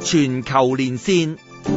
全球連線。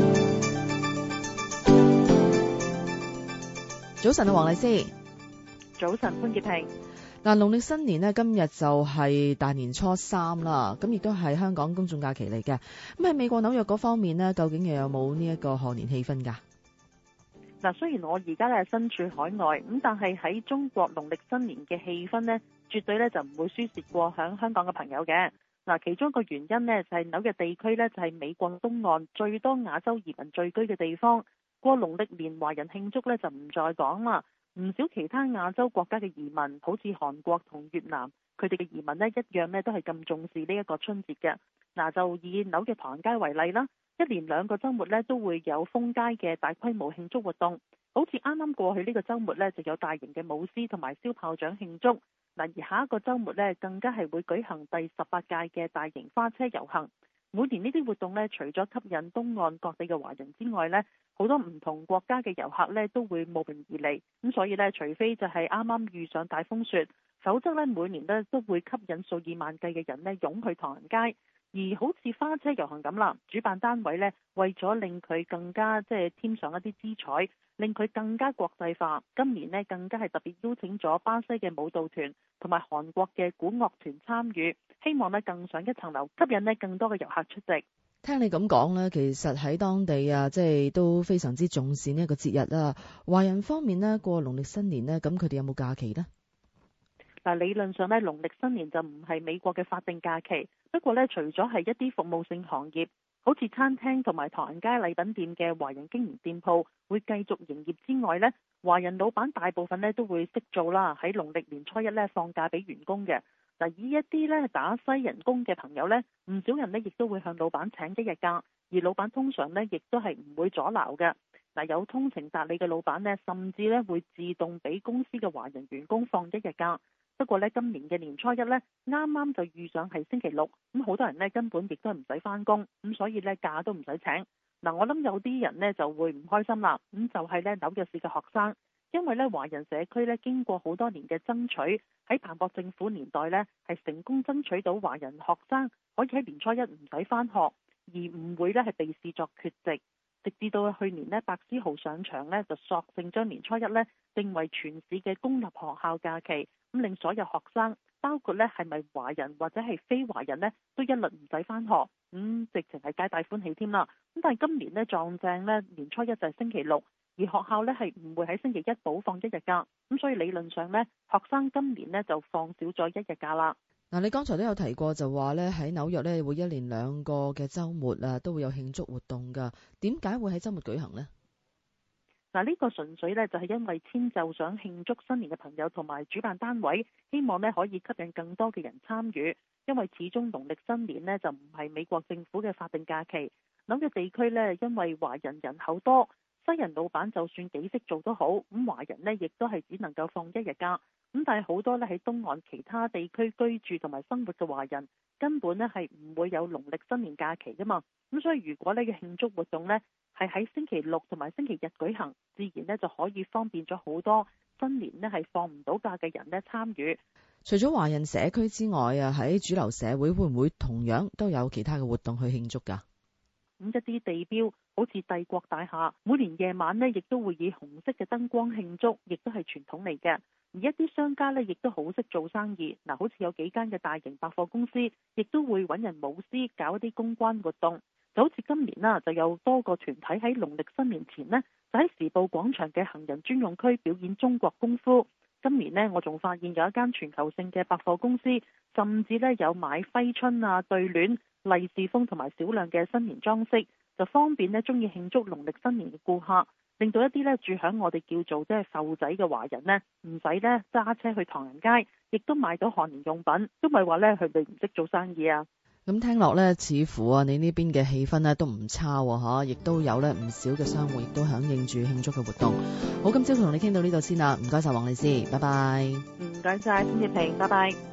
早晨啊，黃麗施。 早晨，潘潔平。 嗱，農曆新年呢，今日就係大年初三啦，咁亦都係香港公眾假期嚟嘅。咁喺美國紐約嗰方面呢，究竟又有冇呢一個賀年氣氛㗎？ 嗱，雖然我而家咧身處海外，咁但係喺中國農曆新年嘅氣氛呢，絕對咧就唔會輸蝕過響香港嘅朋友嘅。嗱，其中一個原因呢，就係紐約地區呢，就係美國東岸最多亞洲移民聚居嘅地方。過農曆年華人慶祝呢，就唔再講啦。唔少其他亞洲國家嘅移民，好似韓國同越南，佢哋嘅移民呢一樣呢都係咁重視呢一個春節嘅。嗱，就以紐約唐人街為例啦，一連2個週末呢都會有封街嘅大規模慶祝活動。好似啱啱過去呢個週末呢，就有大型嘅舞獅同埋燒炮仗慶祝。嗱，而下一個週末呢，更加係會舉行第18屆嘅大型花車遊行。每年呢啲活動呢，除咗吸引東岸各地嘅華人之外呢，好多唔同國家嘅遊客呢都會慕名而嚟。咁所以呢，除非就係啱啱遇上大風雪，否則呢每年呢都會吸引數以萬計嘅人呢湧去唐人街。而好似花車遊行咁啦，主辦單位呢為咗令佢更加添上一啲姿彩，令佢更加國際化，今年呢更加係特別邀請咗巴西嘅舞蹈團同埋韓國嘅古樂團參與，希望呢更上一層樓，吸引呢更多嘅遊客出席。 聽你咁講呢，其實喺當地啊，都非常之重視呢一個節日啦。華人方面呢，過農曆新年呢，咁佢哋有冇假期呢？ 嗱，理論上呢，農曆新年就唔係美國嘅法定假期。不過呢，除咗係一啲服務性行業，好似餐廳同埋唐人街禮品店嘅華人經營店鋪會繼續營業之外呢，華人老闆大部分呢都會識做啦，喺農曆年初一呢放假俾員工嘅。嗱，以一啲呢打西人工嘅朋友呢，唔少人呢亦都會向老闆請1日假，而老闆通常呢亦都係唔會阻撓嘅。嗱，有通情達理嘅老闆呢，甚至呢會自動俾公司嘅華人員工放1日假。不過呢，今年嘅年初一呢，啱啱就遇上係星期六，咁好多人呢根本亦都唔使返工，咁所以呢假都唔使請。嗱，我諗有啲人呢就會唔開心啦，咁就係呢紐約市嘅學生，因為呢華人社區呢經過好多年嘅爭取，喺彭博政府年代呢係成功爭取到華人學生可以喺年初一唔使返學，而唔會呢係被視作缺席。直至到去年呢，白思豪上場呢，就索性將年初一呢定為全市嘅公立學校假期，咁令所有學生，包括呢係咪華人或者係非華人呢，都一律唔使返學，直情係皆大歡喜添啦。咁但係今年呢，撞正呢年初一就係星期六，而學校呢係唔會喺星期一補放1日假，咁所以理論上呢，學生今年呢就放少咗1日假啦。 嗱，你剛才都有提過，就話咧喺紐約咧會一連2個嘅週末啊，都會有慶祝活動㗎。點解會喺週末舉行呢？ 嗱，呢個純粹呢就係因為遷就想慶祝新年嘅朋友同埋主辦單位，希望呢可以吸引更多嘅人參與。因為始終農曆新年呢就唔係美國政府嘅法定假期，紐約地區呢因為華人人口多，西人老闆就算幾識做都好，咁華人呢亦都係只能夠放1日假。咁但係好多呢喺東岸其他地區居住同埋生活嘅華人，根本呢係唔會有農曆新年假期噶嘛。咁所以如果呢個慶祝活動呢係喺星期六同埋星期日舉行，自然呢就可以方便咗好多新年呢係放唔到假嘅人呢參與。 除咗華人社區之外啊，喺主流社會會唔會同樣都有其他嘅活動去慶祝㗎？ 咁一啲地標好似帝國大廈，每年夜晚呢亦都會以紅色嘅燈光慶祝，亦都係傳統嚟嘅。而一啲商家呢亦都好識做生意，嗱，好似有幾間嘅大型百貨公司，亦都會揾人舞獅搞一啲公關活動。就好似今年啦，就有多個團體喺農曆新年前呢，就喺時報廣場嘅行人專用區表演中國功夫。今年呢，我仲發現有一間全球性嘅百貨公司，甚至呢有買揮春啊、對聯、利是封同埋少量嘅新年裝飾，就方便呢中意慶祝農曆新年嘅顧客，令到一啲呢住響我哋叫做埠仔嘅華人呢，唔使呢揸車去唐人街，亦都買到賀年用品，都咪話呢佢哋唔識做生意啊。 咁聽落呢，似乎啊，你呢邊嘅氣氛呢都唔差喎，亦都有呢唔少嘅商戶亦都響應住慶祝嘅活動。好，今朝同你傾到呢度先啦，唔該晒黃麗施，拜拜。 唔該晒潘潔平，拜拜。